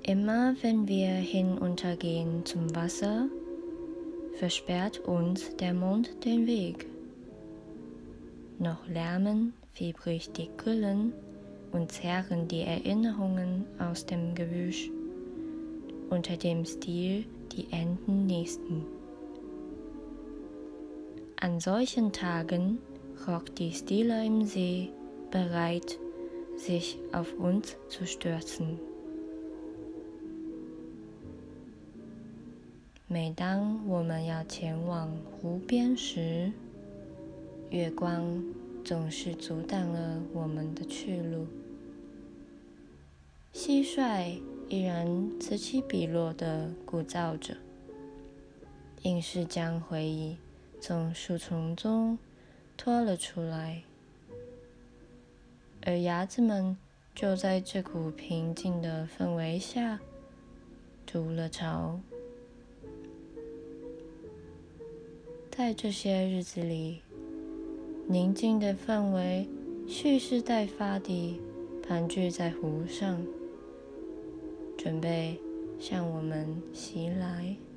Immer wenn wir hinuntergehen zum Wasser, versperrt uns der Mond den Weg. Noch lärmen fiebrig die Grillen und zerren die Erinnerungen aus dem Gebüsch. Unter dem Stiel die Enten nisten. An solchen Tagen rockt die Stille im See, bereit, sich auf uns zu stürzen. 每当我们要前往湖边时，月光总是阻挡了我们的去路。蟋蟀依然此起彼落地鼓噪着，硬是将回忆从树丛中拖了出来，而鸭子们就在这股平静的氛围下筑了巢。在这些日子里，宁静的氛围蓄势待发地盘踞在湖上，准备向我们袭来。